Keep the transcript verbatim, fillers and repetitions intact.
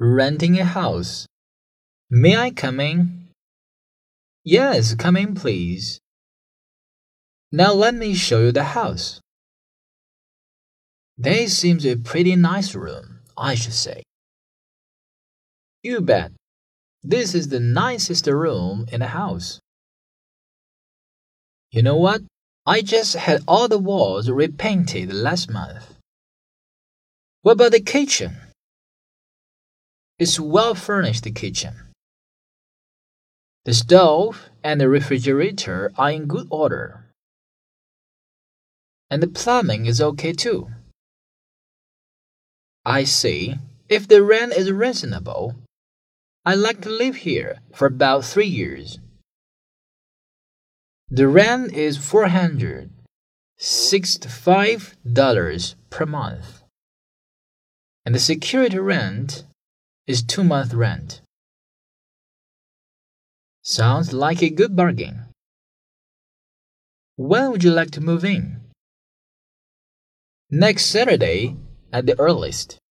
renting a house. May I come in? Yes, come in, please. Now let me show you the house. This seems a pretty nice room, I should say. You bet. This is the nicest room in the house. You know what? I just had all the walls repainted last month. What about the kitchen? It's a well-furnished kitchen. The stove and the refrigerator are in good order. And the plumbing is okay too. I see. If the rent is reasonable, I'd like to live here for about three years. The rent is four hundred sixty-five dollars per month. And the security rent is two month rent. Sounds like a good bargain. When would you like to move in? Next Saturday at the earliest.